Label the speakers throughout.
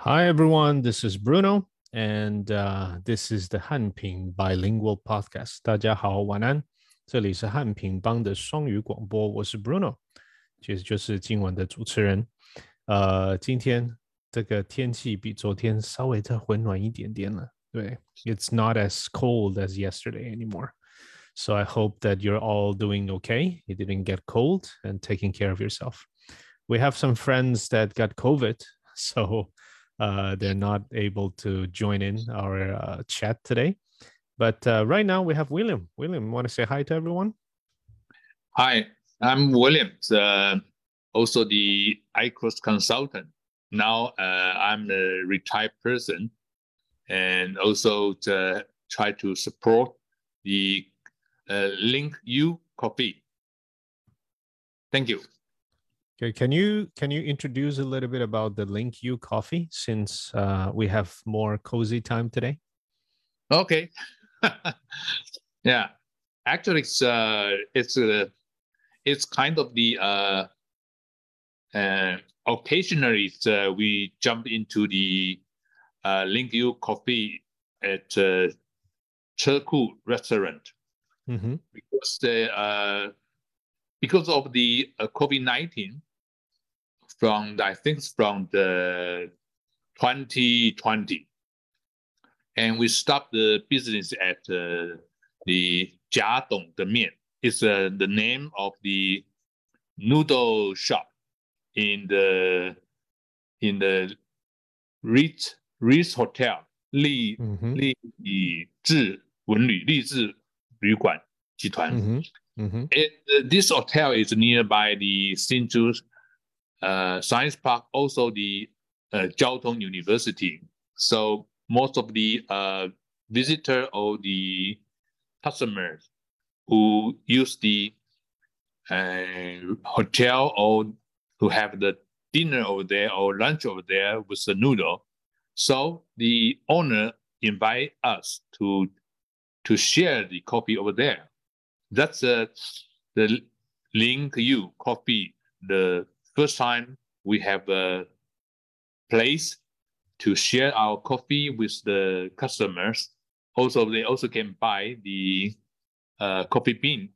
Speaker 1: Hi, everyone. This is Bruno, and this is the 汉平 Bilingual Podcast. 大家好，晚安。这里是汉平帮的双语广播，我是 Bruno，其实就是今晚的主持人。今天这个天气比昨天稍微再温暖一点点了。对，It's not as cold as yesterday anymore. So I hope that you're all doing okay. You didn't get cold and taking care of yourself. We have some friends that got COVID, so they're not able to join in our chat today. But right now we have William. William, want to say hi to everyone?
Speaker 2: Hi, I'm William, also the ICROS consultant. Now I'm a retired person and also to try to support the Link U Coffee. Thank you.
Speaker 1: Okay, can you introduce a little bit about the Link U Coffee since we have more cozy time today?
Speaker 2: Okay. Yeah, actually, it's kind of the occasionally we jump into the Link U Coffee at Cherku restaurant because of the COVID-19 from I think from the 2020, and we stopped the business at the Jia Dong De Mian. It's the name of the noodle shop in the Ritz Hotel 丽致文旅励志旅馆集团。This hotel is nearby the Hsinchu Science Park, also the Jiao Tong University. So most of the visitor or the customers who use the hotel or who have the dinner over there or lunch over there with the noodle. So the owner invite us to share the coffee over there. That's the Link U Coffee. The first time we have a place to share our coffee with the customers. Also, they also can buy the coffee bean.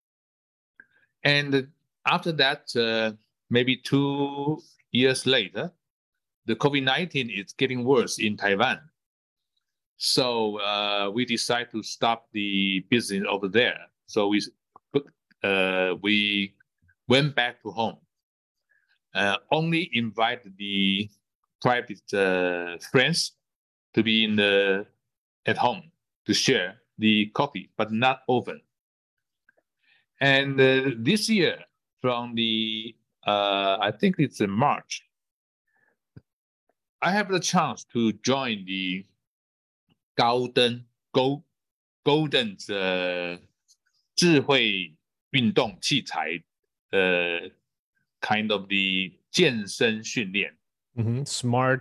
Speaker 2: And after that, maybe 2 years later, the COVID-19 is getting worse in Taiwan. So we decided to stop the business over there. So we went back to home. Only invite the private friends to be at home to share the coffee, but not often. And this year, from the I think it's in March, I have the chance to join the Golden 智慧运动器材kind of the 健身训练。
Speaker 1: Smart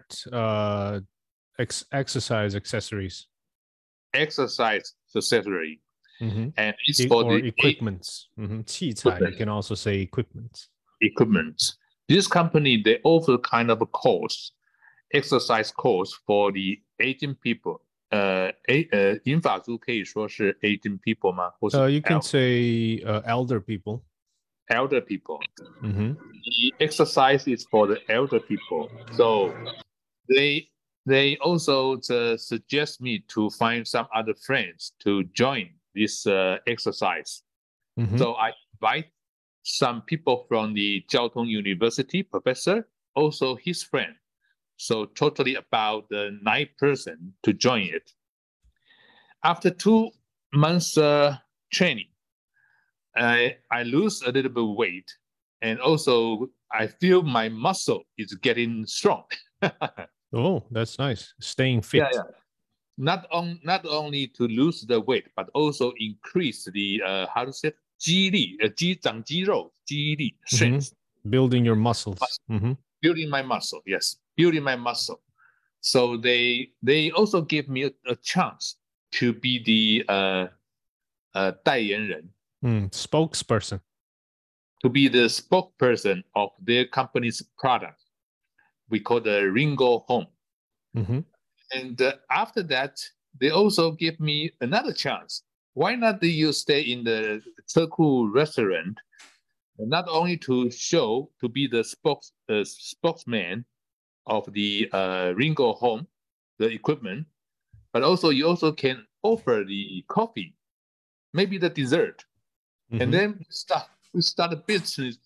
Speaker 1: exercise accessories.
Speaker 2: Exercise accessory.
Speaker 1: And
Speaker 2: it's for
Speaker 1: or
Speaker 2: the
Speaker 1: equipments. 器材, you can also say equipment.
Speaker 2: This company, they offer kind of a course, exercise course for the aging people. 银发族可以说是 aging people 吗？或是
Speaker 1: you can say elder people.
Speaker 2: Elder people. The exercise is for the elder people. So they also suggest me to find some other friends to join this exercise. So I invite some people from the Jiao Tong University professor, also his friend. So totally about 9 persons to join it. After 2 months training, I lose a little bit of weight, and also I feel my muscle is getting strong.
Speaker 1: Oh, that's nice. Staying fit.
Speaker 2: Yeah. Not only to lose the weight, but also increase the how to say 肌力，长肌肉，肌力 strength.
Speaker 1: Building your muscles.
Speaker 2: Building my muscle, yes, building my muscle. So they also give me a chance to be the 代言人.
Speaker 1: Spokesperson.
Speaker 2: To be the spokesperson of their company's product. We call the Ringo Home.
Speaker 1: Mm-hmm.
Speaker 2: And after that, they also give me another chance. Why not do you stay in the Ceku restaurant, not only to be the spokesman of the Ringo home, the equipment, but also you also can offer the coffee, maybe the dessert, and then we start a business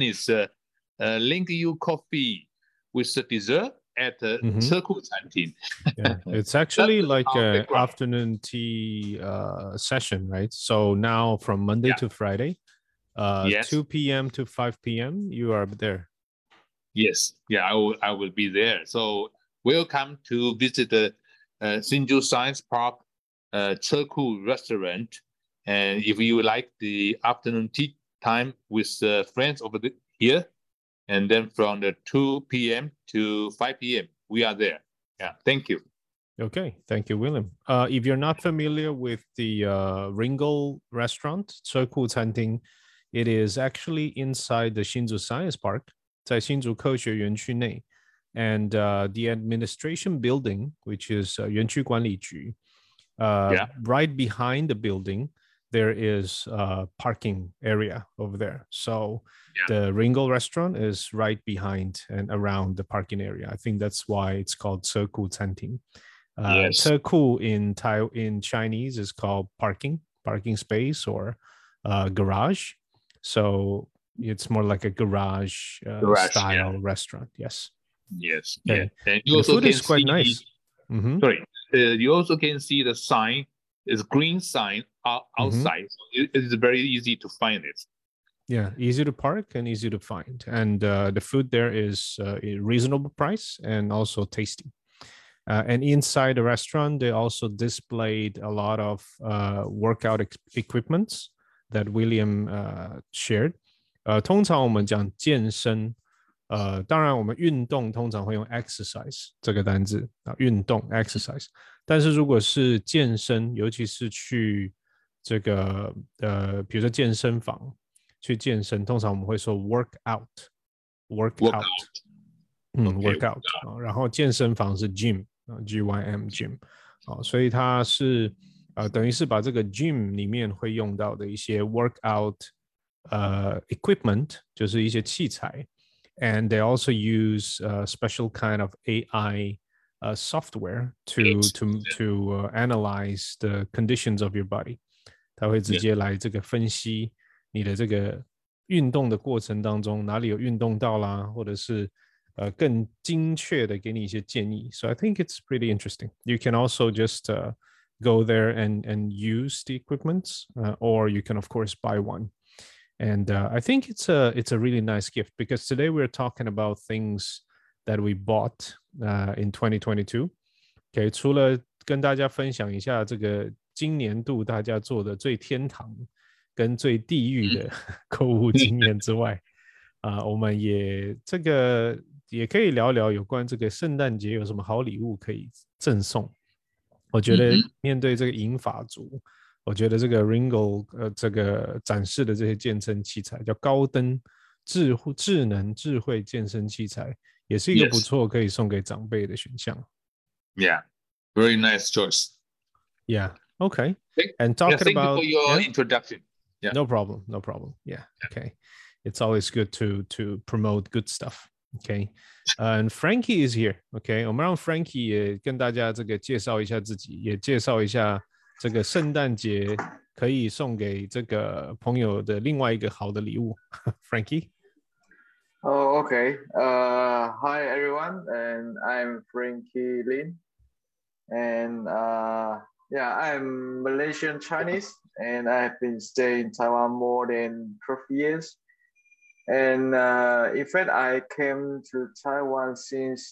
Speaker 2: link you coffee with the dessert at the Ceku Canteen.
Speaker 1: Yeah, it's actually like an afternoon tea session, right? So now from Monday to Friday,
Speaker 2: yes.
Speaker 1: 2 p.m. to 5 p.m. you are there.
Speaker 2: Yes, yeah, I will be there. So welcome to visit the Hsinchu Science Park Ceku restaurant. And if you like the afternoon tea time with friends over here, and then from the 2 p.m. to 5 p.m. we are there. Yeah, thank you.
Speaker 1: Okay, thank you, William. If you're not familiar with the Ringo restaurant, Ceku Canteen, it is actually inside the Hsinchu Science Park, 在新竹科学园区内, and the administration building, which is 园区管理局, right behind the building, there is a parking area over there. So the Ringo restaurant is right behind and around the parking area. I think that's why it's called Ceku Canteen. Ceku in Chinese is called parking space or garage. So it's more like a garage style restaurant. Yes.
Speaker 2: Yes.
Speaker 1: Okay.
Speaker 2: Yeah. And
Speaker 1: the food is quite nice.
Speaker 2: Sorry. You also can see the sign. It's green sign outside. So it is very easy to find it.
Speaker 1: Yeah, easy to park and easy to find. And the food there is a reasonable price and also tasty. And inside the restaurant, they also displayed a lot of workout equipments that William shared. 通常我们讲健身，当然我们运动通常会用 exercise 这个单字啊，运动 exercise。但是如果是健身，尤其是去这个比如说健身房去健身，通常我们会说 workout。workout 啊，然后健身房是 gym。GYM gym，所以它是等于是把这个 gym 里面会用到的一些 workout equipment， 就是一些器材 ，and they also use special kind of AI software to analyze the conditions of your body， 它会直接来这个分析你的这个运动的过程当中哪里有运动到啦，或者是更精确的给你一些建议。So I think it's pretty interesting. You can also just go there and use the equipment, or you can of course buy one. And I think it's a really nice gift because today we're talking about things that we bought in 2022. Okay, 除了跟大家分享一下这个今年度大家做的最天堂跟最地狱的购物经验之外，我们也可以聊聊有关这个圣诞节有什么好礼物可以赠送。我觉得面对这个银发族，我觉得这个 Ringo 这个展示的这些健身器材叫高登智能智慧健身器材，也是一个不错可以送给长辈的选项。
Speaker 2: Yeah, very nice choice.
Speaker 1: Yeah. Okay. And talking
Speaker 2: thank
Speaker 1: about
Speaker 2: you for your introduction. Yeah.
Speaker 1: No problem. Yeah. Okay. It's always good to promote good stuff. Okay. And Frankie is here. Okay. 我们让 Frankie 也跟大家这个介绍一下自己，也介绍一下这个圣诞节可以送给这个朋友的另外一个好的礼物。Frankie.
Speaker 3: Oh, okay. Hi everyone, and I'm Frankie Lin, and I'm Malaysian Chinese, and I've been staying in Taiwan more than 12 years. And in fact, I came to Taiwan since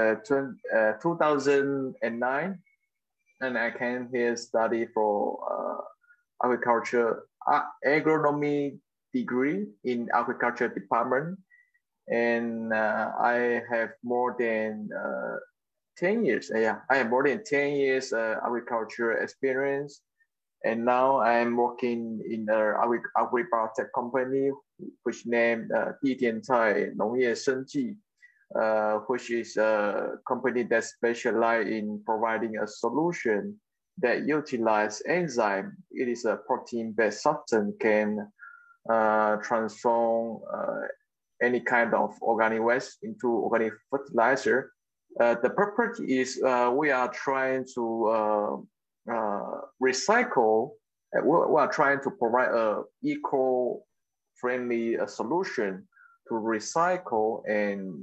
Speaker 3: 2009, and I came here study for agriculture, agronomy degree in agriculture department. And I have more than 10 years. I have more than 10 years agriculture experience. And now I'm working in an agri-biotech company, which named 地点菜农业生技. which is a company that specializes in providing a solution that utilizes enzyme. It is a protein-based substance can transform any kind of organic waste into organic fertilizer. The purpose is we are trying to recycle. We are trying to provide a eco-friendly solution to recycle and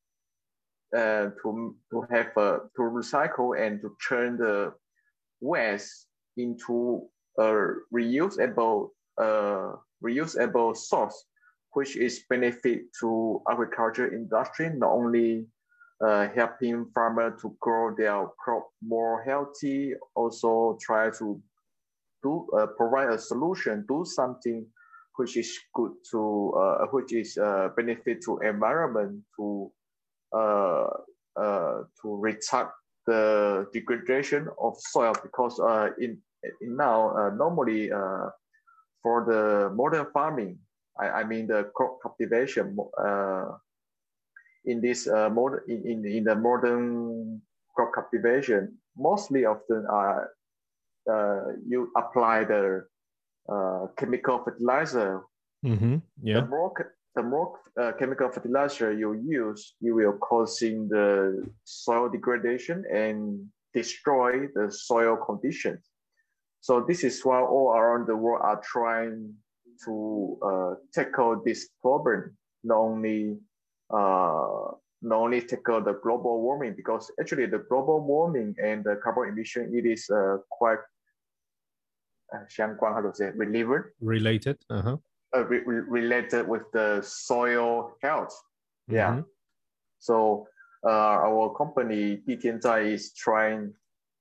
Speaker 3: to recycle and to turn the waste into a reusable source, which is benefit to agriculture industry, not only helping farmers to grow their crop more healthy, also try to provide a solution, do something which is good to, which is benefit to environment, to retard the degradation of soil, because in now normally for the modern farming, I mean the crop cultivation in this in the modern crop cultivation, mostly often you apply the chemical fertilizer.
Speaker 1: Mm-hmm. Yeah.
Speaker 3: The more chemical fertilizer you use, you will causing the soil degradation and destroy the soil conditions. So this is why all around the world are trying to tackle this problem, not only tackle the global warming, because actually the global warming and the carbon emission, it is quite 相关, how to say,
Speaker 1: related. Uh-huh.
Speaker 3: Related with the soil health. Yeah. Mm-hmm. So our company 地天在 is trying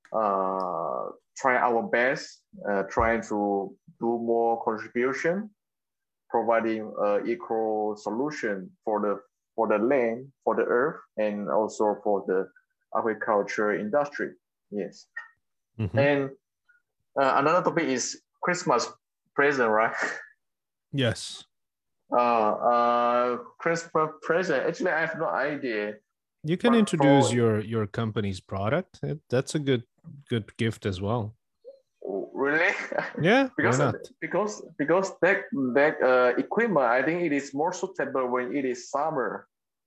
Speaker 3: our best, trying to do more contribution, providing eco solution for the land, for the earth, and also for the agriculture industry. Yes. Mm-hmm. And another topic is Christmas present, right?
Speaker 1: Yes.
Speaker 3: Christmas present. Actually, I have no idea.
Speaker 1: You can introduce your company's product. That's a good gift as well.
Speaker 3: Really?
Speaker 1: Yeah. Why not?
Speaker 3: Because that equipment, I think it is more suitable when it is summer.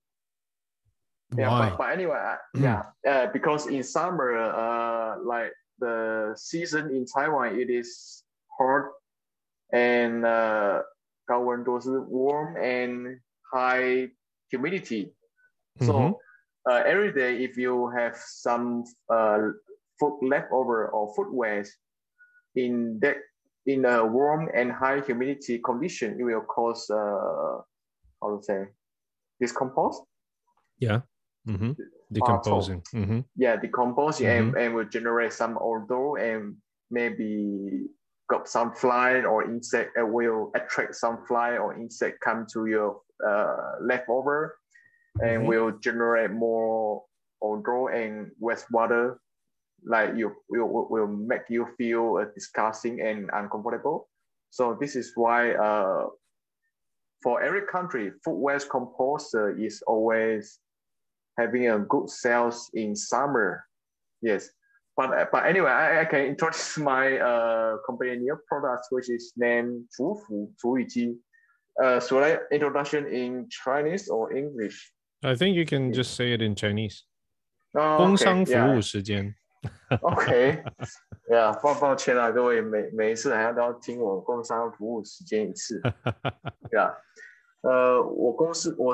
Speaker 1: Why?
Speaker 3: Yeah, but anyway, yeah. Because in summer, like the season in Taiwan, it is hot and 高温都是 warm and high humidity. So every day, if you have some food leftover or food waste in a warm and high humidity condition, it will cause how to say, decompose.
Speaker 1: Yeah. Mm-hmm. Decomposing.
Speaker 3: Mm-hmm. Yeah, decomposing and will generate some odor and maybe got some fly or insect, will attract some fly or insect come to your leftover and will generate more odor and wastewater, like will make you feel disgusting and uncomfortable. So this is why for every country, food waste composter is always having a good sales in summer. Yes. But anyway, I can introduce my company new products, which is named 厨福厨语机. Should I introduction in Chinese or English?
Speaker 1: I think you can just say it in Chinese.
Speaker 3: 工
Speaker 1: 商服务时间.
Speaker 3: OK， yeah， 抱歉啊，各位每一次好像都要听我工商服务时间一次。Yeah， 我公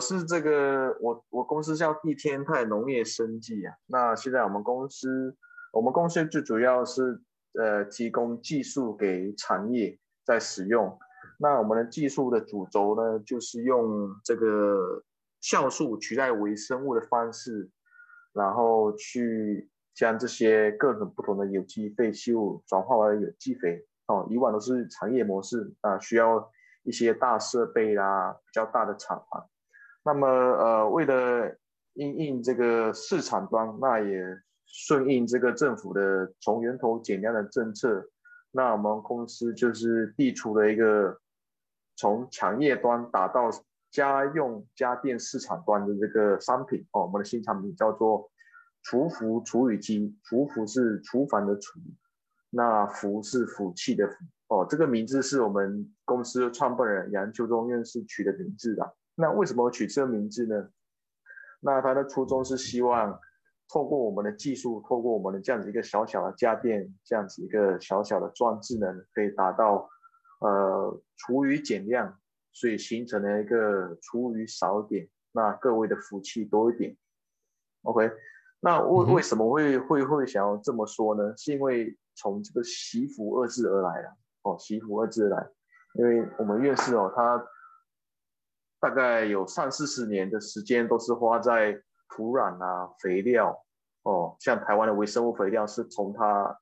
Speaker 3: 司叫地天泰农业生技啊。那现在我们公司最主要是提供技术给产业在使用。那我们的技术的主轴呢，就是用这个酵素取代微生物的方式，然后去将这些各种不同的有机废弃物转化为有机肥。以往都是产业模式啊，需要一些大设备啦，比较大的厂房。那么为了因应这个市场端，那也顺应这个政府的从源头减量的政策，那我们公司就是递出了一个从产业端打到家用家电市场端的这个商品哦，我们的新产品叫做厨服除雨机，厨服是厨房的厨，那福是福气的福哦，这个名字是我们公司的创办人杨秋忠院士取的名字的。那为什么取这个名字呢？那他的初衷是希望透过我们的技术，透过我们的这样子一个小小的家电，这样子一个小小的装置呢，可以达到厨余减量，所以形成了一个厨余少一点，那各位的福气多一点。OK， 那为什么会想要这么说呢？是因为从这个惜福二字而来了哦，惜福二字而来，因为我们院士哦，他大概有30-40年的时间都是花在土壤啊、肥料哦，像台湾的微生物肥料是从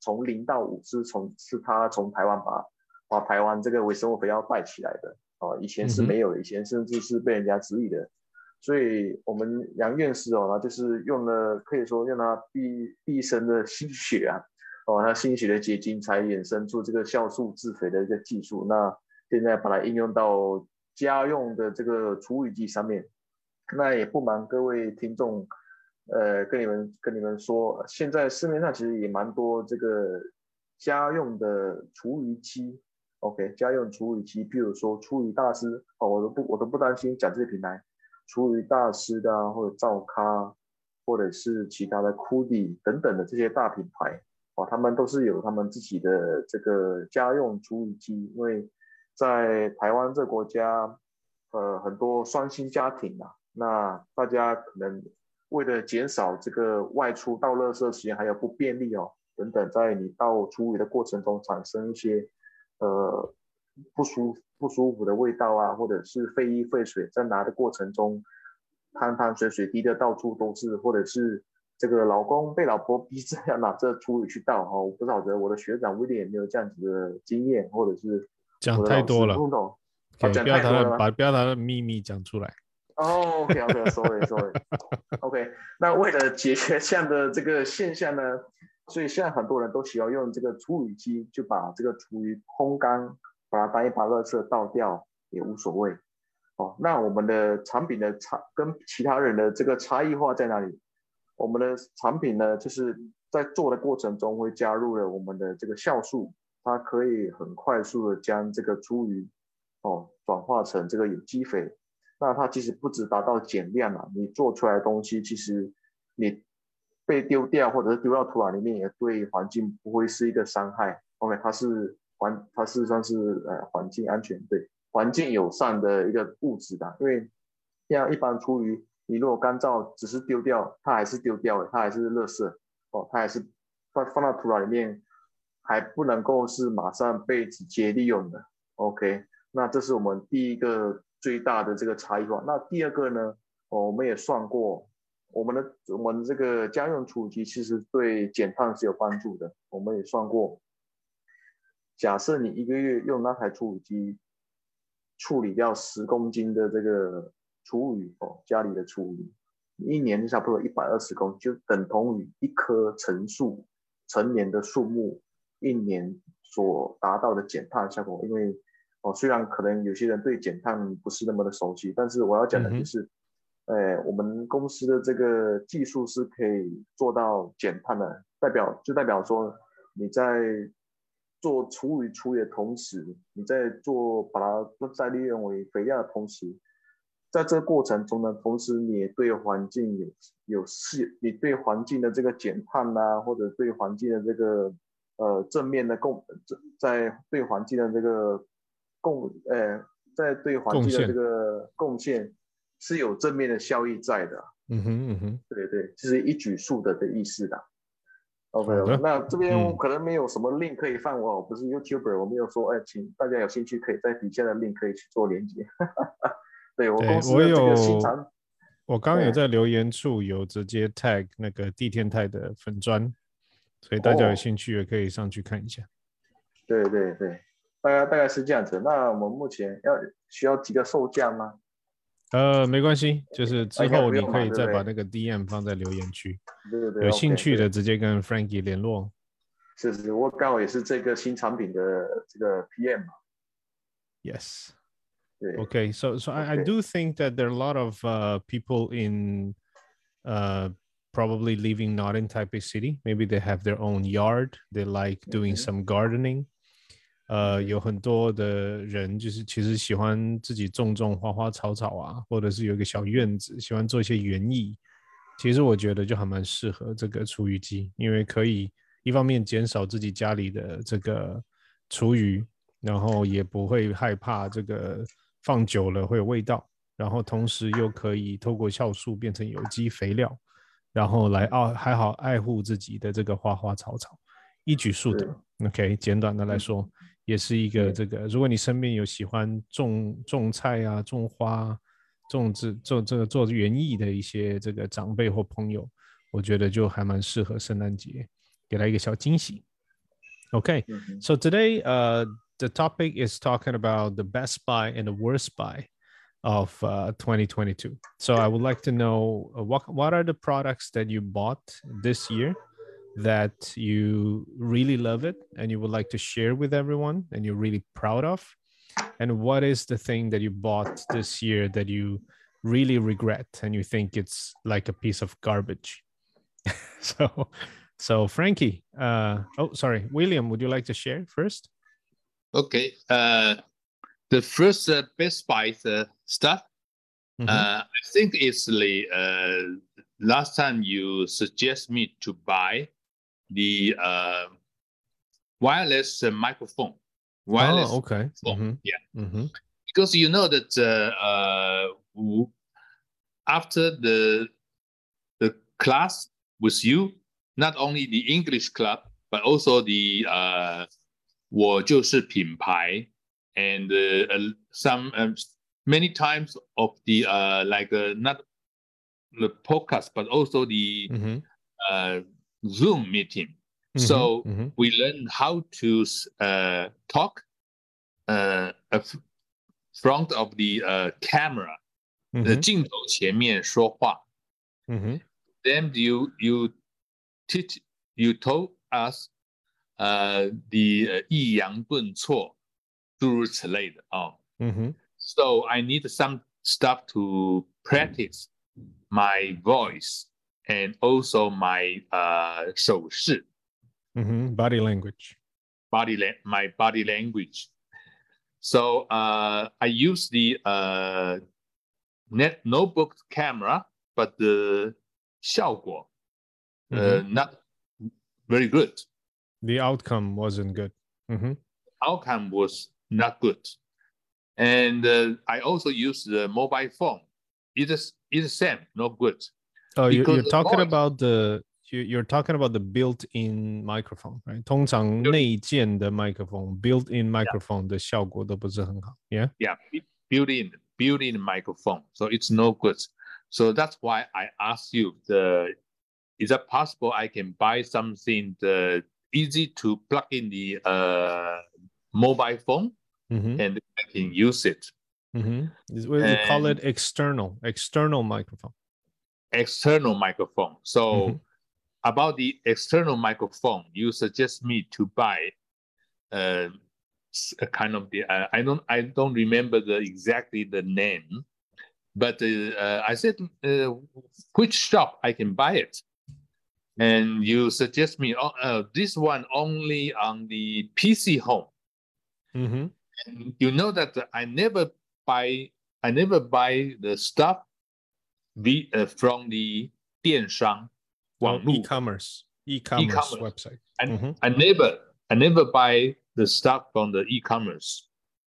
Speaker 3: 0到5是他从台湾把台湾这个微生物肥料带起来的哦，以前是没有的，以前甚至是被人家质疑的。所以我们杨院士哦，他就是用了可以说用他毕生的心血啊，哦，他心血的结晶才衍生出这个酵素制肥的一个技术。那现在把它应用到家用的这个除雨机上面。那也不瞒各位听众，跟你们说，现在市面上其实也蛮多这个家用的除雨机。OK， 家用除雨机，譬如说除雨大师哦，我都不担心讲这些品牌。除雨大师的啊，或者兆咖，或者是其他的库迪等等的这些大品牌哦，他们都是有他们自己的这个家用除雨机，因为在台湾这个国家，很多双薪家庭啊，那大家可能为了减少这个外出倒垃圾时间还有不便利哦等等，在你倒除雨的过程中产生一些不舒服的味道啊，或者是废衣废水，在拿的过程中，汤水滴的到处都是，或者是这个老公被老婆逼着要拿着厨余去倒哈，我不晓得我的学长威廉有没有这样子的经验，或者是
Speaker 1: 讲太多了，
Speaker 3: 讲太多了吗？
Speaker 1: 不要把他的秘密讲出来。
Speaker 3: 哦 ，OK，sorry， OK， 那为了解决这样的这个现象呢，所以现在很多人都喜欢用这个除雨机，就把这个厨余烘干。把它当一把垃圾倒掉也无所谓哦。那我们的产品的跟其他人的这个差异化在哪里？我们的产品呢，就是在做的过程中会加入了我们的这个酵素，它可以很快速的将这个厨余哦转化成这个有机肥。那它其实不只达到减量啊，你做出来的东西其实你被丢掉或者是丢到土壤里面，也对环境不会是一个伤害。OK， 它事实上是环境安全，对环境友善的一个物质的，因为像一般厨余，你如果干燥只是丢掉，它还是丢掉的，它还是垃圾哦，它还是放到土壤里面，还不能够是马上被直接利用的。OK， 那这是我们第一个最大的这个差异化。那第二个呢，我们也算过，我们这个家用除雨机其实对减碳是有帮助的，我们也算过。假设你一个月用那台除雨机处理掉10公斤的这个厨余哦，家里的厨余，一年就差不多120公斤，就等同于一棵成年的树木一年所达到的减碳效果。因为虽然可能有些人对减碳不是那么的熟悉，但是我要讲的就是，我们公司的这个技术是可以做到减碳的，代表说你在做厨余的同时，你在把它再利用为肥料的同时，在这个过程中呢，同时你也对环境你对环境的这个减碳啊，或者对环境的这个正面的在对环境的这个在对环境的这个贡献是有正面的效益在的。对，就是一举数得的意思的。OK， 那这边我可能没有什么 link 可以放，我不是 YouTuber， 我没有说，请大家有兴趣可以在底下的 link 可以去做连接。对，我公司的这个新产，
Speaker 1: 我刚刚有在留言处有直接 tag 那个地天泰的粉专，所以大家有兴趣也可以上去看一下。
Speaker 3: 对，大概是这样子。那我们目前需要几个售价吗？
Speaker 1: 没关系，就是之后你可以再把那个 DM 放在留言区。
Speaker 3: 对，
Speaker 1: 有兴趣的直接跟 Frankie 联络。
Speaker 3: 是，我刚好也是这个新产品的这个 PM 嘛。
Speaker 1: Yes。 Okay, so I do think that there are a lot of people in probably living not in Taipei City. Maybe they have their own yard. They like doing some gardening. 有很多的人就是其实喜欢自己种花花草草啊，或者是有一个小院子，喜欢做一些园艺。其实我觉得就还蛮适合这个厨余机，因为可以一方面减少自己家里的这个厨余，然后也不会害怕这个放久了会有味道，然后同时又可以透过酵素变成有机肥料，然后来还好爱护自己的这个花花草草，一举数得。OK， 简短的来说，也是一个这个，如果你身边有喜欢种菜啊、种花、做园艺的一些这个长辈或朋友，我觉得就还蛮适合圣诞节给他一个小惊喜。Okay, so today the topic is talking about the best buy and the worst buy of 2022. So I would like to know what are the products that you bought this year that you really love it and you would like to share with everyone and you're really proud of? And what is the thing that you bought this year that you really regret and you think it's like a piece of garbage? So Frankie, sorry, William, would you like to share first?
Speaker 2: Okay. The first Best Buy stuff, I think it's the last time you suggest me to buy the wireless microphone. Wireless
Speaker 1: okay.
Speaker 2: phone. Yeah. Because you know that after the class with you, not only the English club, but also the 我就是品牌 and some many times of the like not the podcast, but also the Zoom meeting. So we learn how to talk front of the camera, 镜头前面说话。Then you told us the 抑扬顿挫，诸如此类的啊。So I need some stuff to practice my voice and also my 手势。
Speaker 1: Body language.
Speaker 2: My body language. So I use the notebook camera, but the 效果 not very good.
Speaker 1: The outcome wasn't good.
Speaker 2: Outcome was not good. And I also use the mobile phone. It's the same, not good.
Speaker 1: Oh, you're talking about you're talking about the built-in microphone, right? 通常内建的 microphone, built-in microphone 的效果都不是很好。Yeah.
Speaker 2: Yeah, built-in microphone. So it's no good. So that's why I asked you, is it possible I can buy something easy to plug in the mobile phone and I can use it?
Speaker 1: We call it external microphone.
Speaker 2: External microphone. So about the external microphone, you suggest me to buy a kind of the I don't remember exactly the name, but I said which shop I can buy it, and you suggest me this one only on the PC Home. And you know that I never buy the stuff from the 电商
Speaker 1: e-commerce website.
Speaker 2: I never buy the stuff from the e-commerce,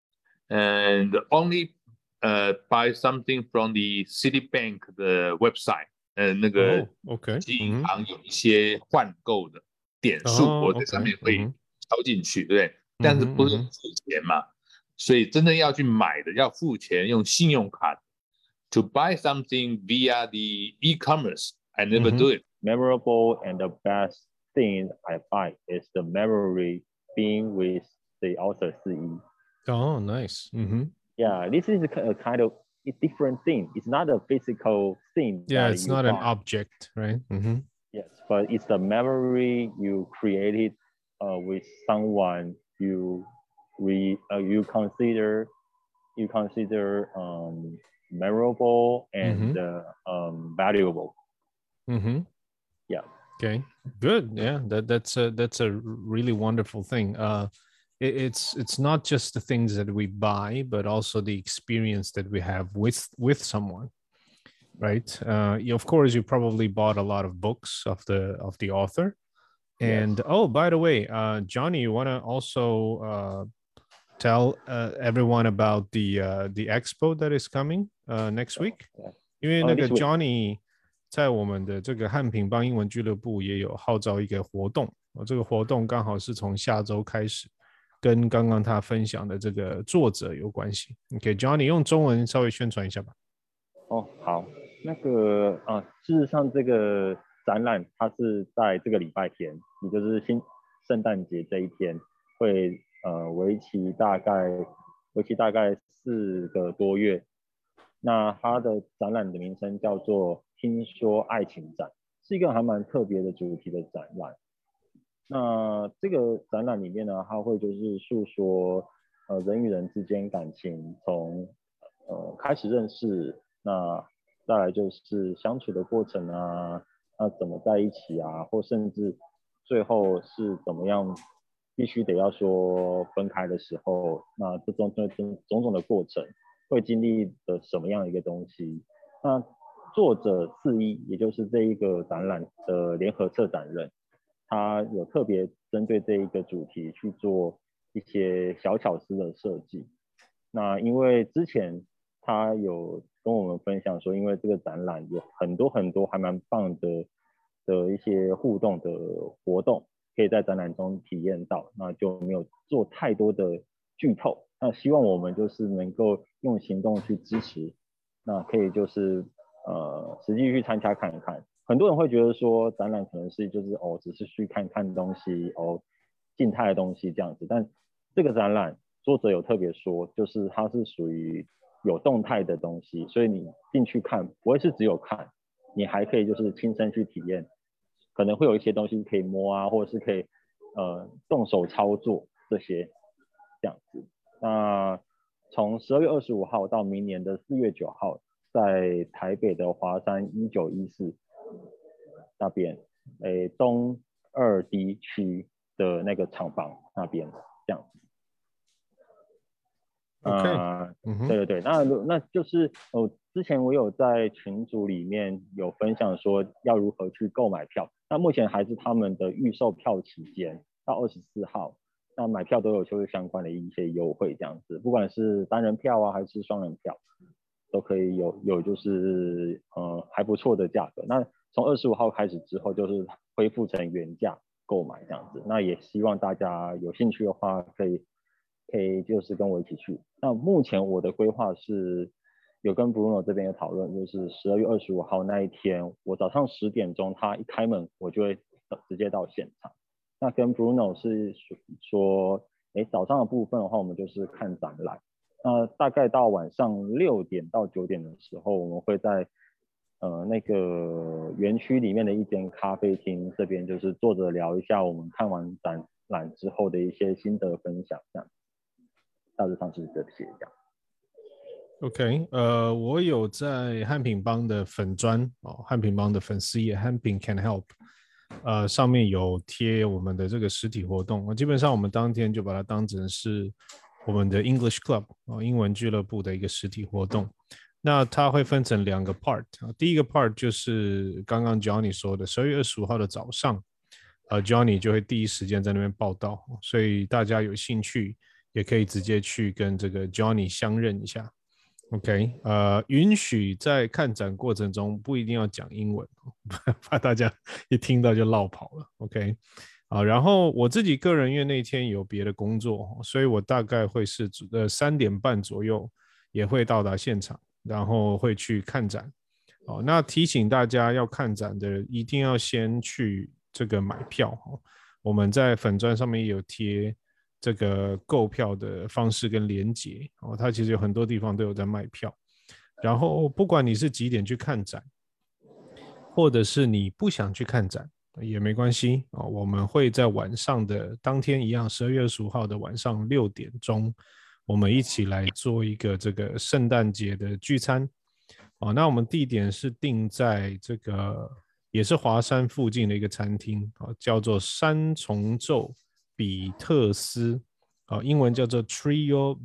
Speaker 2: and only buy something from the Citibank 的 website. 那个银行有一些换购的点数，我在上面会敲进去，对不对？但是不是付钱嘛，所以真的要去买的要付钱，用信用卡。To buy something via the e-commerce, I never do it.
Speaker 4: Memorable and the best thing I buy is the memory being with the Ultra 4E.
Speaker 1: Oh, nice.
Speaker 4: Yeah, this is a kind of a different thing. It's not a physical thing.
Speaker 1: Yeah, it's not an object, right?
Speaker 4: Yes, but it's the memory you created with someone you consider you consider memorable and valuable. Yeah.
Speaker 1: Okay, good. Yeah, that's a really wonderful thing. It's not just the things that we buy, but also the experience that we have with someone, right? Of course, you probably bought a lot of books of the author. And yes. Oh, by the way, Johnny, you want to also tell everyone about the expo that is coming next week? 因为那个 Johnny 在我们的这个汉品帮英文俱乐部也有号召一个活动，这个活动刚好是从下周开始，跟刚刚他分享的这个作者有关系。OK， Johnny 用中文稍微宣传一下吧。
Speaker 4: 哦，好，那个事实上这个展览它是在这个礼拜天，也就是圣诞节这一天，会为期大概4个多月。那它的展览的名称叫做听说爱情展，是一个还蛮特别的主题的展览。那这个展览里面呢，它会就是诉说人与人之间感情从开始认识，那再来就是相处的过程啊，那怎么在一起啊，或甚至最后是怎么样必须得要说分开的时候，那这种种的过程会经历的什么样的一个东西。那作者4一，也就是这一个展览的联合策展人，他有特别针对这一个主题去做一些小巧思的设计。那因为之前他有跟我们分享说，因为这个展览有很多还蛮棒的一些互动的活动可以在展览中体验到，那就没有做太多的剧透。那希望我们就是能够用行动去支持，那可以就是实际去参加看看。很多人会觉得说展览可能是就是只是去看看东西静态的东西这样子，但这个展览作者有特别说，就是它是属于有动态的东西，所以你进去看不会是只有看，你还可以就是亲身去体验，可能会有一些东西可以摸啊，或者是可以动手操作这些这样子。那从12月25号到明年的4月9号，在台北的华山1914那边，东2D 区的那个厂房那边这样子。对，那就是之前我有在群组里面有分享说要如何去购买票，那目前还是他们的预售票期间到24号，那买票都有就是相关的一些优惠这样子，不管是单人票啊还是双人票，都可以有就是还不错的价格。那从25号开始之后就是恢复成原价购买这样子，那也希望大家有兴趣的话可以就是跟我一起去。那目前我的规划是有跟 Bruno 这边有讨论，就是12月25号那一天，我早上10点钟他一开门，我就会直接到现场。那跟 Bruno 是说，早上的部分的话，我们就是看展览。那大概到晚上6点到9点的时候，我们会在那个园区里面的一间咖啡厅这边，就是坐着聊一下我们看完展览之后的一些心得分享，这样。大致上是这些这样。
Speaker 1: OK， 我有在汉品帮的粉专汉品帮的粉丝页汉品 Can Help， 上面有贴我们的这个实体活动，基本上我们当天就把它当成是我们的 English Club 英文俱乐部的一个实体活动。那它会分成2个 part， 第一个 part 就是刚刚 Johnny 说的12月25号的早上，Johnny 就会第一时间在那边报道，所以大家有兴趣也可以直接去跟这个 Johnny 相认一下。OK， 允许在看展过程中不一定要讲英文，怕大家一听到就落跑了。OK， 然后我自己个人因为那天有别的工作，所以我大概会是3点半左右也会到达现场，然后会去看展。那提醒大家要看展的一定要先去这个买票。我们在粉专上面也有贴这个购票的方式跟连结，它其实有很多地方都有在卖票。然后不管你是几点去看展，或者是你不想去看展也没关系，我们会在晚上的当天一样12月25号的晚上6点钟我们一起来做一个这个圣诞节的聚餐。那我们地点是定在这个也是华山附近的一个餐厅，叫做三重奏比特斯，英文叫做 Trio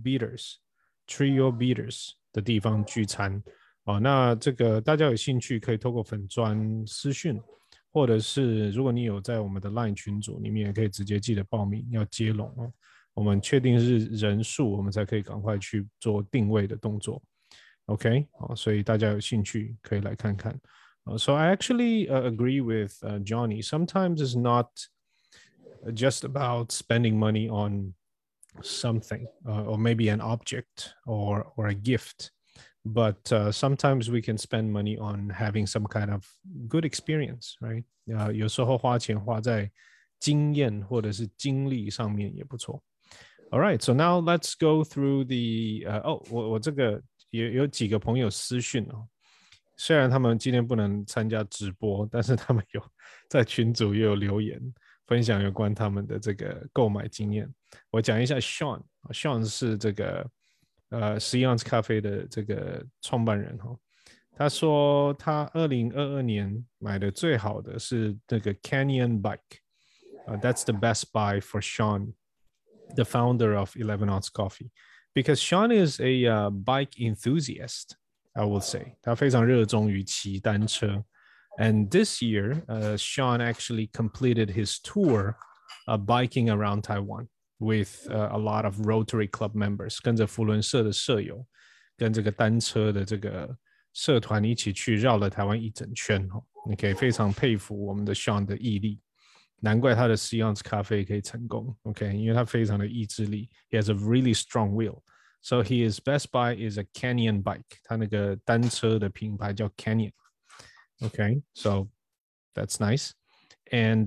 Speaker 1: Beaters 的地方聚餐。那这个大家有兴趣可以透过粉专私讯，或者是如果你有在我们的 LINE 群组里面，也可以直接记得报名要接龙哦。我们确定是人数，我们才可以赶快去做定位的动作。OK， 所以大家有兴趣可以来看看。So I actually agree with Johnny. Sometimes it's not just about spending money on something or maybe an object or a gift, but sometimes we can spend money on having some kind of good experience, right? 有时候花钱花在经验或者是经历上面也不错。All right, so now let's go through the 我这个有几个朋友私讯哦，虽然他们今天不能参加直播，但是他们有在群组也有留言分享有关他们的这个购买经验。我讲一下 Sean 是这个11ounce咖啡的这个创办人哦，他说他2022年买的最好的是这个 Canyon Bike，that's the best buy for Sean。The founder of 11ounce Coffee, because Sean is a bike enthusiast, I will say. 他非常热衷于骑单车 And this year, Sean actually completed his tour biking around Taiwan with a lot of Rotary Club members, 跟着扶轮社的社友，跟这个单车的这个社团一起去绕了台湾一整圈。你可以非常佩服我们的 Sean 的毅力。难怪他的11ounce咖啡可以成功 ，OK， 因为他非常的意志力 ，He has a really strong will. So his best buy is a Canyon bike. 他那个单车的品牌叫 Canyon. Okay, so that's nice. And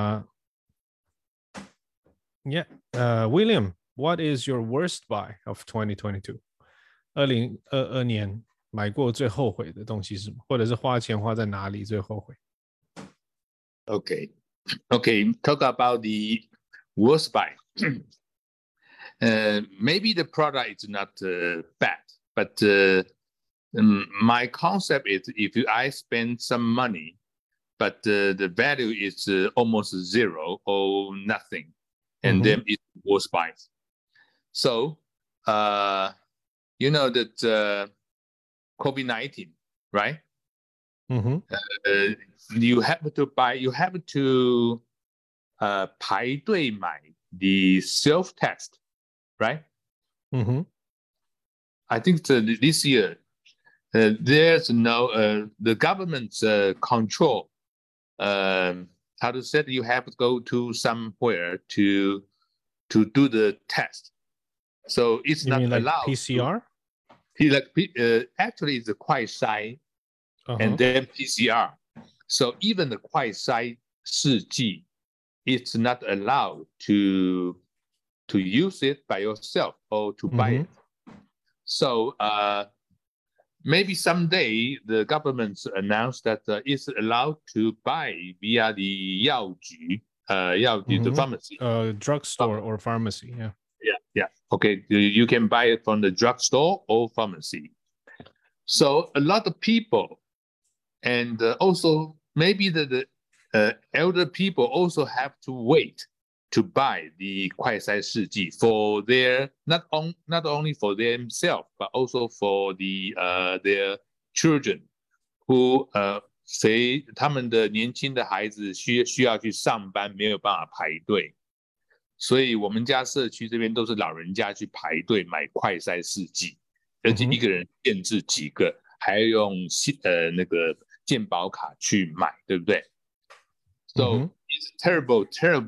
Speaker 1: William, what is your worst buy of 2022? 2022年买过最后悔的东西是什么？或者是花钱花在哪里最后悔？
Speaker 2: Okay, talk about the worst buy. Maybe the product is not bad, but my concept is if I spend some money, but the value is almost zero or nothing, and then it's worst buy. So, you know that COVID-19, right? You have to buy, you have to 排队买 the self-test, right? I think this year there's no the government's control. How to say you have to go to somewhere to do the test. So it's
Speaker 1: you
Speaker 2: not
Speaker 1: mean
Speaker 2: allowed.
Speaker 1: Like PCR?
Speaker 2: Actually, it's a 快筛 and then PCR. So even the 快筛试剂 it's not allowed to use it by yourself or to buy it. So maybe someday the government announced that it's allowed to buy via the 药局, the pharmacy.
Speaker 1: Drugstore or pharmacy,
Speaker 2: Yeah. Okay, you can buy it from the drugstore or pharmacy. So a lot of people, and also maybe the elder people also have to wait to buy the 快筛试剂 for their not only for themselves but also for their children who 他们的年轻的孩子需要去上班，没有办法排队，所以我们家社区这边都是老人家去排队买快筛试剂，而且一个人限制几个，还要用那个健保卡去买，对不对？So it's terrible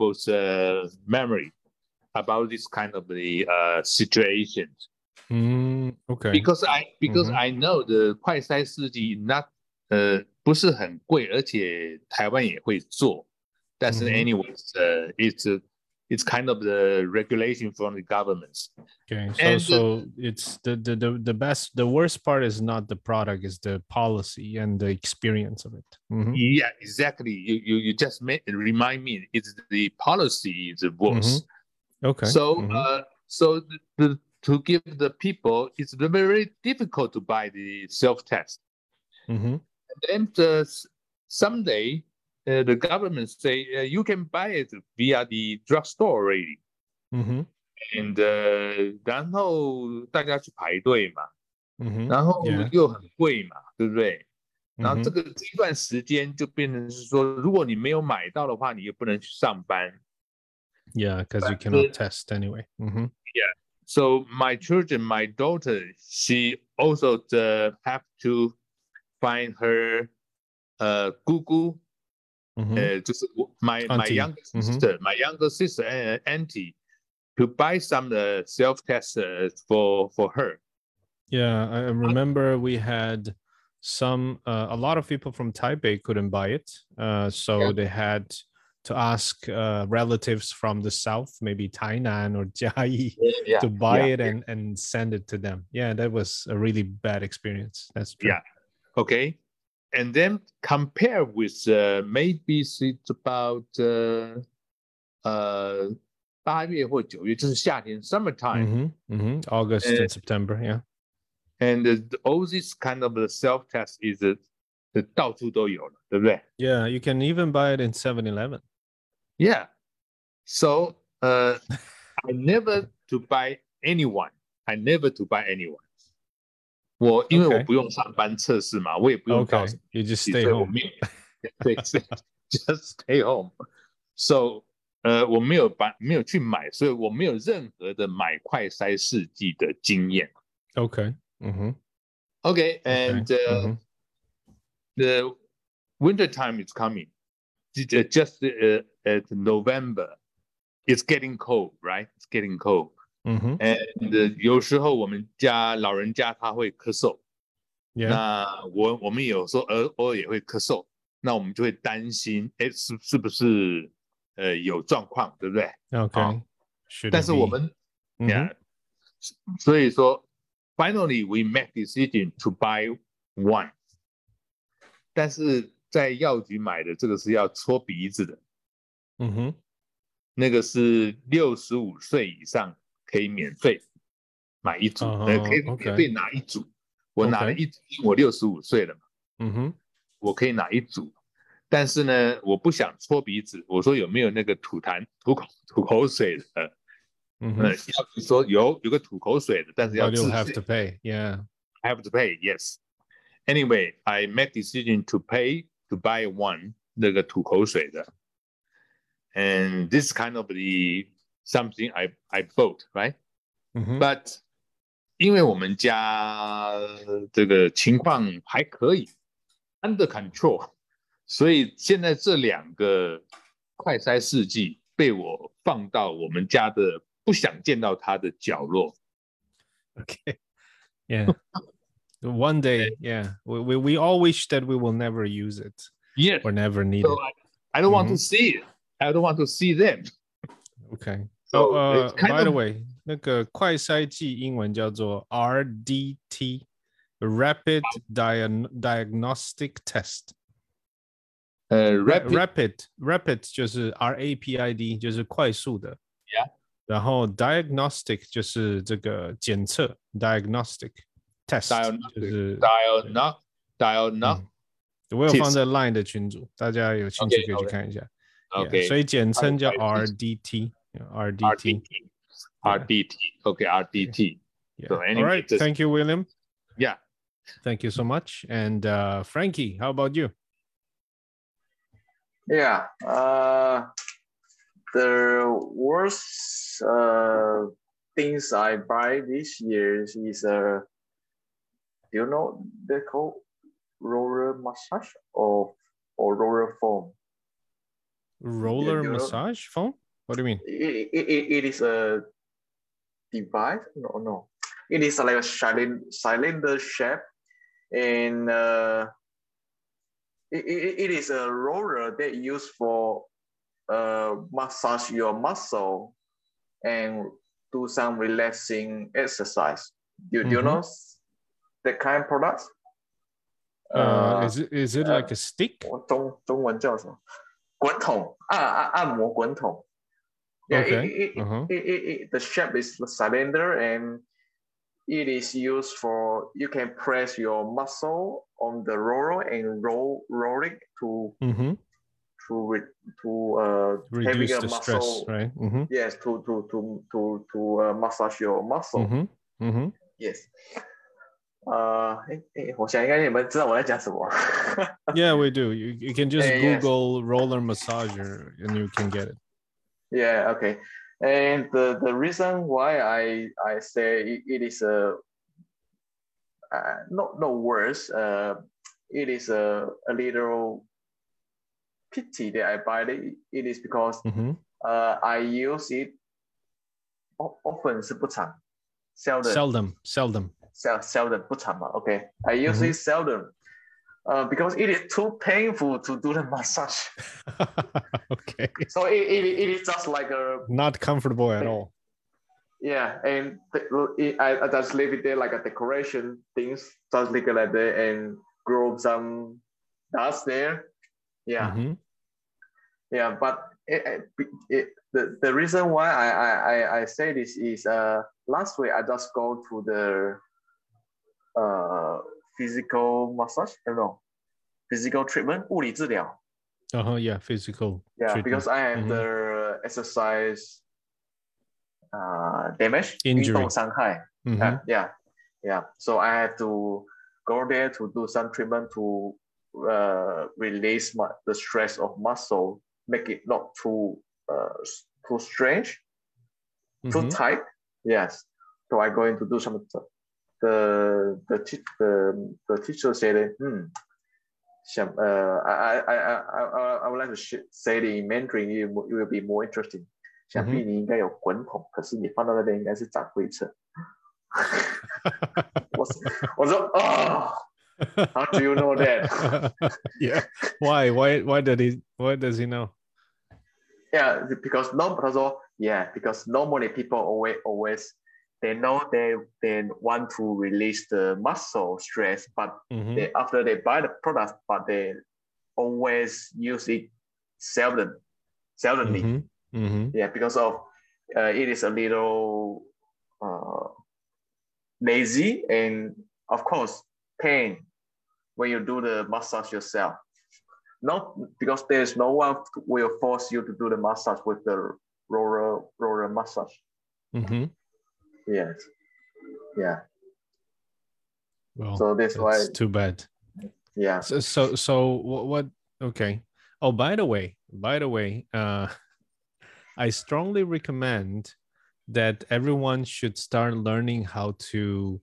Speaker 2: memory about this kind of the situations.
Speaker 1: Okay.
Speaker 2: Because I know the 快筛试剂 not 不是很贵，而且台湾也会做，但是 anyways it's kind of the regulation from the governments.
Speaker 1: Okay, so it's the worst part is not the product, is the policy and the experience of it.
Speaker 2: Yeah, exactly. You just remind me. It's the policy is worse.
Speaker 1: Okay.
Speaker 2: So so to give the people, it's very difficult to buy the self-test.
Speaker 1: Mm-hmm.
Speaker 2: And then someday the government say you can buy it via the drugstore already.
Speaker 1: Mm-hmm.
Speaker 2: And 然后大家去排队嘛，
Speaker 1: Mm-hmm.
Speaker 2: 然后
Speaker 1: Yeah.
Speaker 2: 又很贵嘛，对不对？ 然后
Speaker 1: Mm-hmm.
Speaker 2: 这一段时间就变成是说，如果你没有买到的话，你又不能去上班。
Speaker 1: Yeah, because you cannot test anyway. Mm-hmm.
Speaker 2: Yeah. So my children, my daughter, she also have to find her姑姑， 就是 my younger sister, my younger sister and auntie, to buy some self-test for her.
Speaker 1: Yeah, I remember we had a lot of people from Taipei couldn't buy it. So they had to ask relatives from the south, maybe Tainan or Jiayi, to buy it and send it to them. Yeah, that was a really bad experience. That's true.
Speaker 2: Yeah. Okay. And then compare with maybe it's about 8月或9月，就是夏天 summertime.
Speaker 1: August and September, yeah.
Speaker 2: And all this kind of self-test is 到处都有了，对不对？
Speaker 1: Yeah, you can even buy it in 7-Eleven.
Speaker 2: Yeah. So I never to buy anyone. I never to buy anyone. 因为我不用上班测试嘛，我也不用到
Speaker 1: You just stay home.
Speaker 2: 对 just stay home. So 我没有去买，所以我没有任何的买快筛试剂的经验。
Speaker 1: Okay.
Speaker 2: Okay, and the winter time is coming. Just at November, it's getting cold, right? It's getting cold. And 有时候我们家老人家他会咳嗽， 那我们有时候偶尔也会咳嗽，那我们就会担心，是不是有状况，对不对？
Speaker 1: Okay.
Speaker 2: 但是我们 yeah， 所以说 finally we make decision to buy one， 但是在药局买的这个是要搓鼻子的， 那个是65岁以上可以免费买一组，可以免费拿一组。我拿了一组，因为我65岁了嘛， 我可以拿一组。但是呢，我不想搓鼻子，我说有没有那个吐口水的？药局说有个吐口水的，但是要自费。
Speaker 1: But you have to pay, yeah.
Speaker 2: I have to pay, yes. Anyway, I make decision to pay to buy one 那个吐口水的。And this kind of the something I bought, right? But 因为我们家这个情况还可以 under control， 所以现在这2个快筛试剂被我放到我们家的不想见到它的角落。
Speaker 1: Okay. Yeah. One day, yeah. We all wish that we will never use it.
Speaker 2: Yes.
Speaker 1: Or never need
Speaker 2: so
Speaker 1: it.
Speaker 2: I don't want to see it. I don't want to see them.
Speaker 1: Okay.
Speaker 2: So
Speaker 1: by the way, 那个快筛剂英文叫做 RDT, Rapid Diagnostic Test. Rapid 就是 RAPID 就是快速的。
Speaker 2: Yeah.
Speaker 1: 然后 diagnostic 就是这个检测 diagnostic test 就是
Speaker 2: diagnostic
Speaker 1: 我有放在 Line 的群组，大家有兴趣可以去看一下。
Speaker 2: Okay.
Speaker 1: 所以简称叫 RDT.
Speaker 2: RDT. Okay, RDT.
Speaker 1: Yeah.
Speaker 2: So anyway,
Speaker 1: all right. Thank you, William.
Speaker 2: Yeah.
Speaker 1: Thank you so much. And Frankie, how about you?
Speaker 3: Yeah. The worst things I buy this year is do you know they call roller massage or roller foam?
Speaker 1: Roller massage foam? What do you mean?
Speaker 3: It is a device. No. It is like a cylinder shape, and it is a roller that used for massage your muscle and do some relaxing exercise. Do you know that kind of product?
Speaker 1: Is it like a stick?
Speaker 3: 中文叫什么？滚筒按摩滚筒。Yeah,
Speaker 1: okay.
Speaker 3: the shape is the cylinder and it is used for, you can press your muscle on the roller and roll it to
Speaker 1: reduce the stress, right?
Speaker 3: Yes, to massage your muscle. Yes. 我想应该你们知道我在讲什么。
Speaker 1: Yeah, we do. You can just Google roller massager and you can get it.
Speaker 3: Yeah, okay. And the reason why I say it is no worse. It is a little pity that I buy it. It is because I use it often 是不常
Speaker 1: seldom
Speaker 3: 不常嘛 okay I use it seldom because it is too painful to do the massage.
Speaker 1: Okay,
Speaker 3: so it is just like a
Speaker 1: not comfortable at all.
Speaker 3: Yeah, and I just leave it there like a decoration things, just leave it like that and grow some dust there. Yeah. Yeah, but the reason why I say this is last week I just go to the physical massage, physical treatment, 物理治疗.
Speaker 1: Yeah, physical.
Speaker 3: Yeah,
Speaker 1: treatment.
Speaker 3: because I have the exercise damage,
Speaker 1: injury,
Speaker 3: 运动伤害. Yeah. So I have to go there to do some treatment to release the stress of muscle, make it not too strange, too tight. Yes. So I'm going to do some. The teacher said, I would like to say it in Mandarin. It will be more interesting. 想必你应该有滚筒，可是你放到那边应该是长灰尘。我说哦。How do you know that?
Speaker 1: Yeah. Why does he know?
Speaker 3: Yeah, because because normally people always they know they want to release the muscle stress, but after they buy the product, but they always use it seldomly. Yeah, because of it is a little lazy and of course pain when you do the massage yourself. Not because there's no one will force you to do the massage with the roller massage. Yes. Yeah.
Speaker 1: Well,
Speaker 3: so that's why.
Speaker 1: Too bad.
Speaker 3: Yeah.
Speaker 1: So what? Okay. Oh, by the way, I strongly recommend that everyone should start learning how to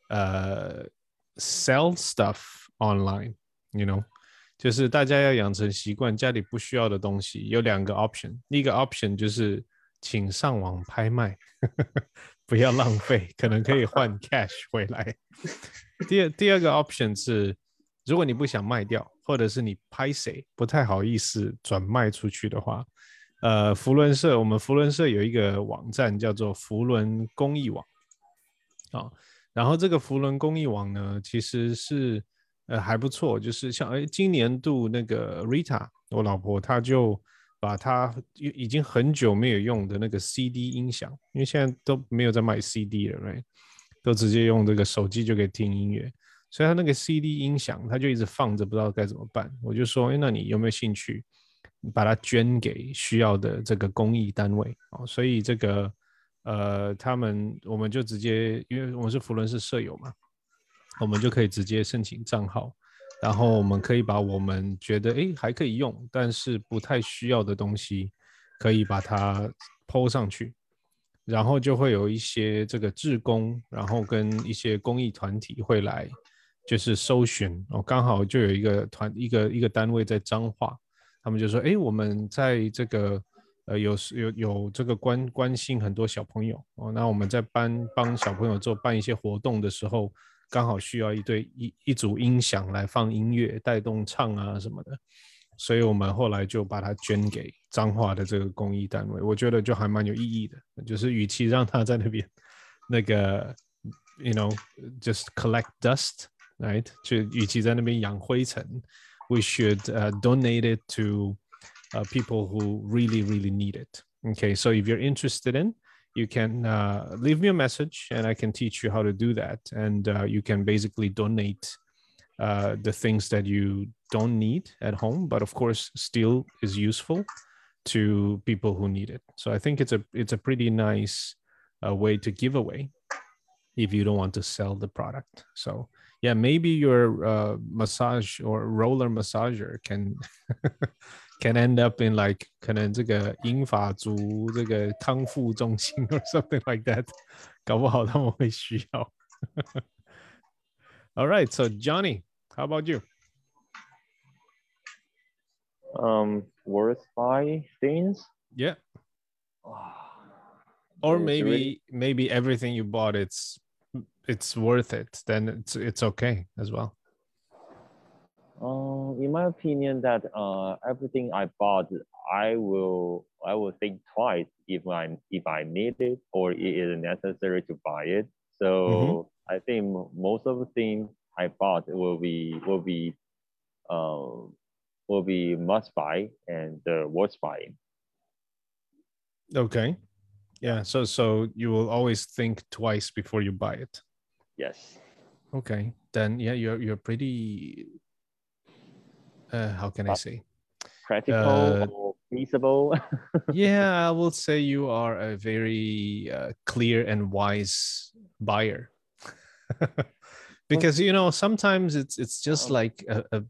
Speaker 1: sell stuff online. 就是大家要养成习惯，家里不需要的东西有2个 option。一个 option 就是请上网拍卖，不要浪费，可能可以换 cash 回来。第二个 option 是，如果你不想卖掉，或者是你拍谁不太好意思转卖出去的话，我们福伦社有一个网站叫做福伦公益网，然后这个福伦公益网呢，其实是还不错，就是像今年度那个 Rita 我老婆，她就把她已经很久没有用的那个 CD 音响，因为现在都没有在卖 CD 了 right? 都直接用这个手机就可以听音乐，所以她那个 CD 音响她就一直放着，不知道该怎么办。我就说那你有没有兴趣把它捐给需要的这个公益单位，所以这个我们就直接，因为我们是福伦社舍友嘛，我们就可以直接申请账号，然后我们可以把我们觉得还可以用，但是不太需要的东西，可以把它 po 上去，然后就会有一些这个志工，然后跟一些公益团体会来，就是搜寻，刚好就有一个单位在彰化，他们就说，我们在这个有这个关心很多小朋友那我们在帮小朋友办一些活动的时候，刚好需要一组音响来放音乐，带动唱啊什么的，所以我们后来就把它捐给彰化的这个公益单位，我觉得就还蛮有意义的，就是与其让他在那边那个 just collect dust right， 就与其在那边养灰尘 we should donate it to people who really need it. Okay, so if you're interested in, you can leave me a message and I can teach you how to do that. And you can basically donate the things that you don't need at home, but of course still is useful to people who need it. So I think it's a pretty nice way to give away if you don't want to sell the product. So yeah, maybe your massage or roller massager can can end up in like 可能这个英法族这个康复中心 or something like that. 搞不好他们会需要。All right, so Johnny, how about you?
Speaker 4: Worth buy things?
Speaker 1: Yeah. Or maybe everything you bought it's worth it, then it's okay as well.
Speaker 4: In my opinion, that everything I bought, I will think twice if I need it or it is necessary to buy it. So I think most of the things I bought will be must buy and worth buying.
Speaker 1: Okay. Yeah. So you will always think twice before you buy it.
Speaker 4: Yes.
Speaker 1: Okay. Then yeah, you're pretty. How can I say?
Speaker 4: Practical or feasible.
Speaker 1: Yeah, I will say you are a very clear and wise buyer. Because sometimes it's just like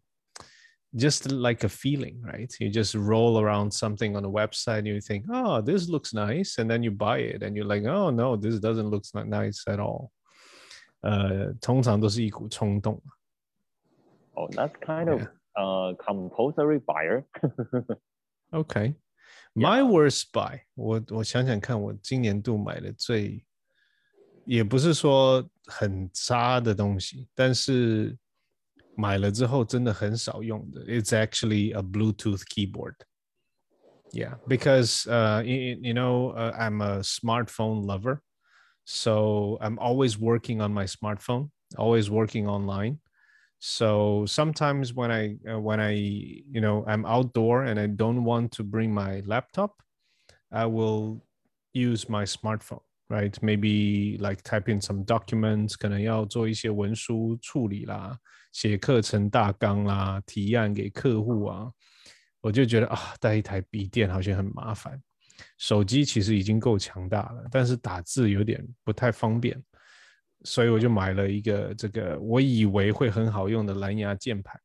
Speaker 1: a feeling, right? You just roll around something on a website and you think, oh, this looks nice, and then you buy it and you're like, oh no, this doesn't look nice at all. 通常都是一股冲动。
Speaker 4: Oh, that's kind of compulsory buyer.
Speaker 1: Okay. My worst buy, 我想想看，我今年度买的最，也不是说很渣的东西，但是买了之后真的很少用的。It's actually a Bluetooth keyboard. Yeah, because I'm a smartphone lover, so I'm always working on my smartphone, always working online. So sometimes when I'm outdoor and I don't want to bring my laptop, I will use my smartphone, right? Maybe like type in some documents, 可能要做一些文书处理啦，写课程大纲啦，提案给客户啊，我就觉得带一台笔电好像很麻烦。手机其实已经够强大了，但是打字有点不太方便。所以我就买了一个这个我以为会很好用的蓝牙键盘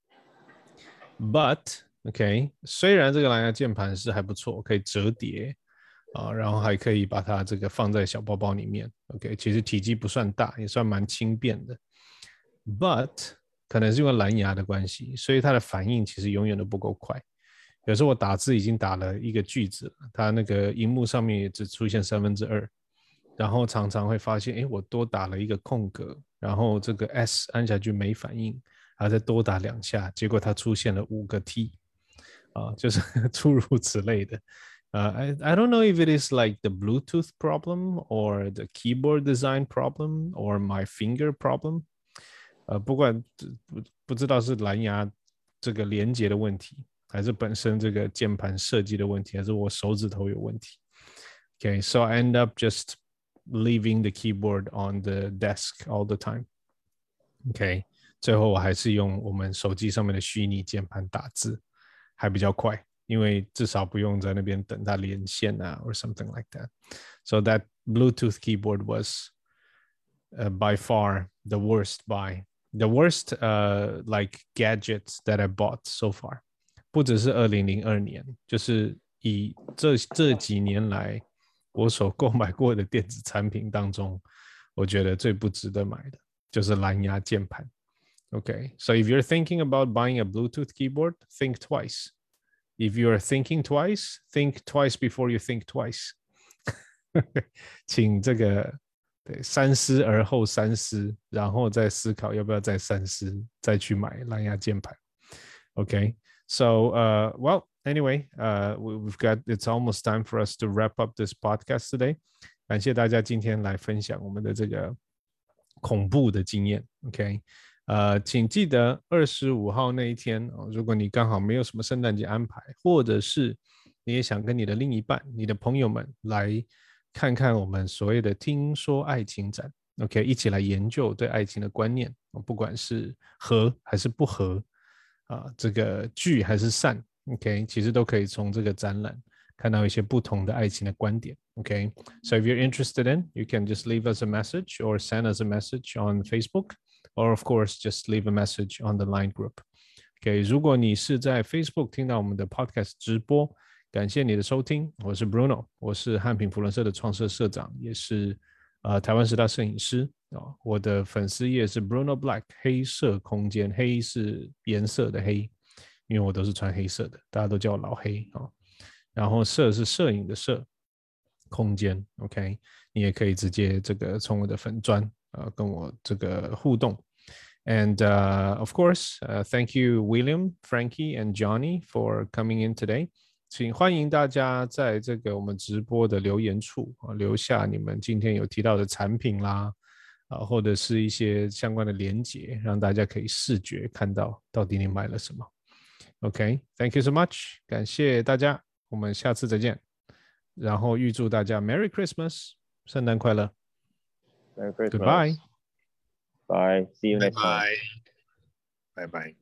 Speaker 1: ，but OK， 虽然这个蓝牙键盘是还不错，可以折叠然后还可以把它这个放在小包包里面 ，OK， 其实体积不算大，也算蛮轻便的 ，but 可能是因为蓝牙的关系，所以它的反应其实永远都不够快。有时候我打字已经打了一个句子了，它那个荧幕上面也只出现2/3。然后常常会发现，我多打了一个空格，然后这个 S 按下去没反应，还要再多打2下，结果它出现了5个 T， 就是诸如此类的。I don't know if it is like the Bluetooth problem or the keyboard design problem or my finger problem。不管不知道是蓝牙这个连接的问题，还是本身这个键盘设计的问题，还是我手指头有问题。Okay, so I end up just leaving the keyboard on the desk all the time. OK， 最后我还是用我们手机上面的虚拟键盘打字，还比较快，因为至少不用在那边等它连线啊 or something like that. So that Bluetooth keyboard was by far the worst buy, the worst like gadgets that I bought so far. 不只是2002年，就是以这几年来。我所购买过的电子产品当中，我觉得最不值得买的就是蓝牙键盘。Okay, so if you're thinking about buying a Bluetooth keyboard, think twice. If you're thinking twice, think twice before you think twice. 请这个三思而后三思，然后再思考要不要再三思，再去买蓝牙键盘。Okay, so well. Anyway, it's almost time for us to wrap up this podcast today. 感谢大家今天来分享我们的这个恐怖的经验 ，OK？ 请记得25号那一天如果你刚好没有什么圣诞节安排，或者是你也想跟你的另一半、你的朋友们来看看我们所谓的听说爱情展 ，OK， 一起来研究对爱情的观念，不管是合还是不合这个聚还是散 ，OK， 其实都可以从这个展览看到一些不同的爱情的观点 ，OK。So if you're interested in, you can just leave us a message or send us a message on Facebook, or of course just leave a message on the Line group。OK， 如果你是在 Facebook 听到我们的 Podcast 直播，感谢你的收听，我是 Bruno， 我是汉品福伦社的创社社长，也是台湾10大摄影师我的粉丝页是 Bruno Black 黑色空间，黑是颜色的黑，因为我都是穿黑色的，大家都叫我老黑然后社是摄影的社，空间 OK， 你也可以直接这个从我的粉专跟我这个互动。And of course, thank you, William, Frankie, and Johnny for coming in today. 请欢迎大家在这个我们直播的留言处留下你们今天有提到的产品啦，或者是一些相关的连结，让大家可以视觉看到到底你买了什么。OK, thank you so much. 感谢大家，我们下次再见。然后预祝大家 Merry Christmas， 圣诞快乐。
Speaker 4: Merry Christmas.
Speaker 1: Goodbye.
Speaker 4: Bye. See you next time.
Speaker 2: Bye bye.